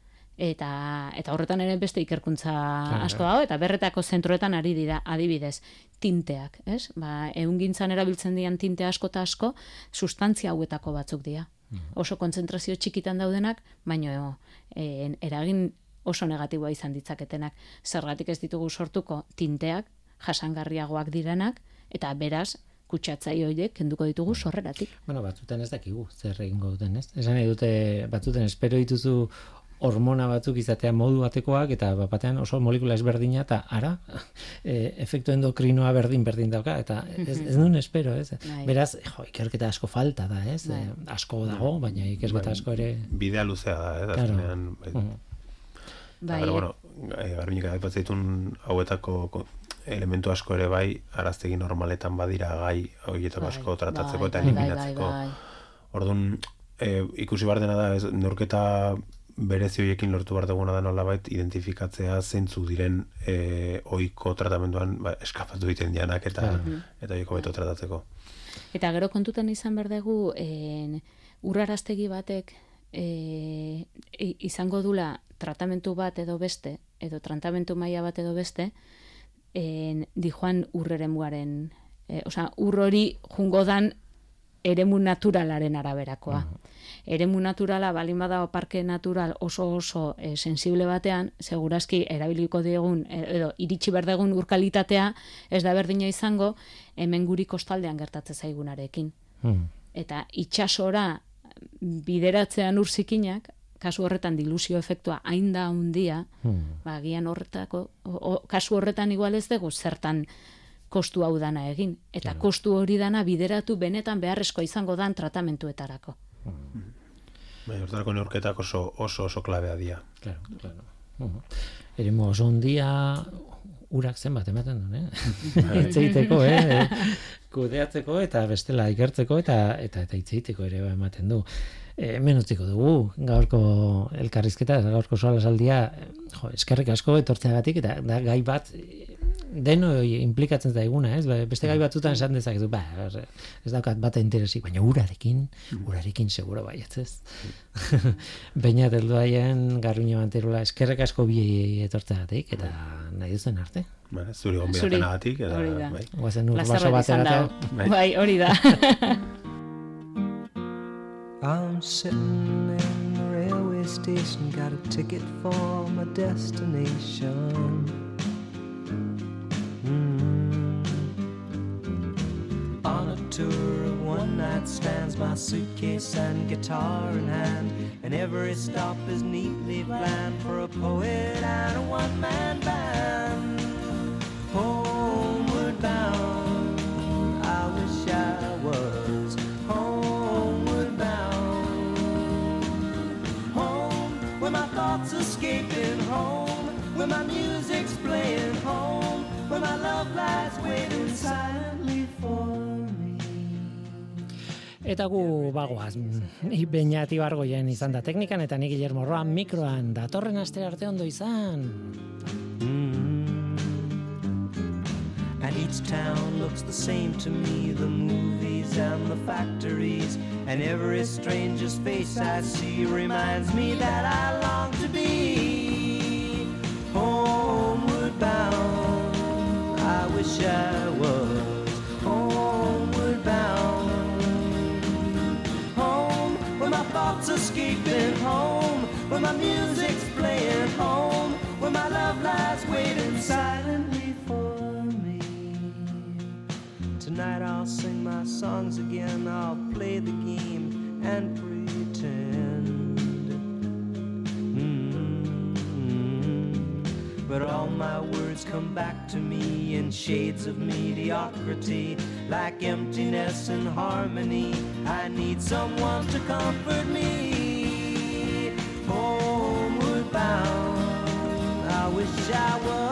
Eta horretan ere beste ikerkuntza asko dago, eta berretako zentroetan ari dira, adibidez, tinteak, ez? Ehungintzan erabiltzen dian tinte asko eta asko, sustantzia hauetako batzuk dira. Oso kontzentrazio txikitan daudenak, baina eragin oso negatiboa izan ditzaketenak. Zergatik ez ditugu sortuko tinteak, jasangarriagoak direnak, eta beraz, kutsatzaile horiek kenduko ditugu sorreratik. Bueno, batzuten ez dakigu, zer egingo duten, ez? Esan nahi dute, batzuten espero dituzu hormona batzuk izatea modu batekoak, eta batean oso molekula ezberdina, eta ara, efektu endokrinoa berdin dauka, eta ez duen espero, ez? Beraz, ikerketa asko falta da, ez? Asko dago, baina ikerketa asko ere... Bidea luzea da, ez? Azkenean, Pero, bueno, garbinik aipatzen hauetako elementu asko ere bai, araztegi normaletan badira gai horietako asko tratatzeko eta eliminatzeko. Orduan, ikusi behar dena da, neurketa berezi horiekin lortu behar duguna da nolabait identifikatzea zeintzuk diren ohiko tratamenduan eskapatu egiten dianak eta horieko beto tratatzeko. Eta gero kontutan izan behar dugu urraraztegi batek izango dula tratamentu bat edo beste, edo tratamentu maila bat edo beste, dijoan urreremuaren, ur hori jungo dan eremu naturalaren araberakoa. Eremu naturala, balin bada parke natural oso sensible batean, segurazki erabiliko diegun, edo iritsi berdegun urkalitatea, ez da berdina izango, hemen guri kostaldean gertatze zaigunarekin. Eta itxasora bideratzean urzikinak, kasu horretan dilusio efektua hain da handia, agian horretako, kasu horretan igual ez dugu zertan kostu hau dana egin. Eta kostu hori dana bideratu benetan beharrezkoa izango dan tratamentuetarako. Hortarako neurketak oso klabea dira. Claro. Eremu oso ondia urak zenbat ematen duen, Itzeiteko, kudeatzeko eta bestela ikertzeko eta itzeiteko ere ematen du. Hemen utziko dugu, gaurko elkarrizketa, gaurko solasaldia, eskerrik asko etortzeagatik, eta da gai bat deno implikatzen daiguna, ez? Beste gai batzutan esan dezakezu, ez daukat bat interesik, baina urarekin seguro baietz, ez? Baina deldu haien Garbiñe Manterola, eskerrik asko bi etortzeagatik, eta nahi duzen arte. Zuri gonbidatenagatik, eta guazen ur baso bateratzea. Bai, hori da. I'm sitting in the railway station, got a ticket for my destination. On a tour of one-night stands, my suitcase and guitar in hand, and every stop is neatly planned for a poet and a one-man band. Homeward bound, I wish I was homeward bound. Home, where my thoughts escaping, home, where my music's playing, home, where my love lies waiting silently for me. Eta gu bagoaz, Beñat Ibargoien izan da teknikan, eta ni Guillermo Roa mikroan, datorren aste arte ondo izan. And each town looks the same to me, the movies and the factories, and every stranger's face I see reminds me that I long to be homeward bound. I wish I was homeward bound. Home, where my thoughts escaping, home, where my music's playing, home, where my love lies waiting silently for me. Tonight I'll sing my songs again, I'll play the game and pretend. But all my words come back to me in shades of mediocrity, like emptiness and harmony. I need someone to comfort me. Homeward bound, I wish I was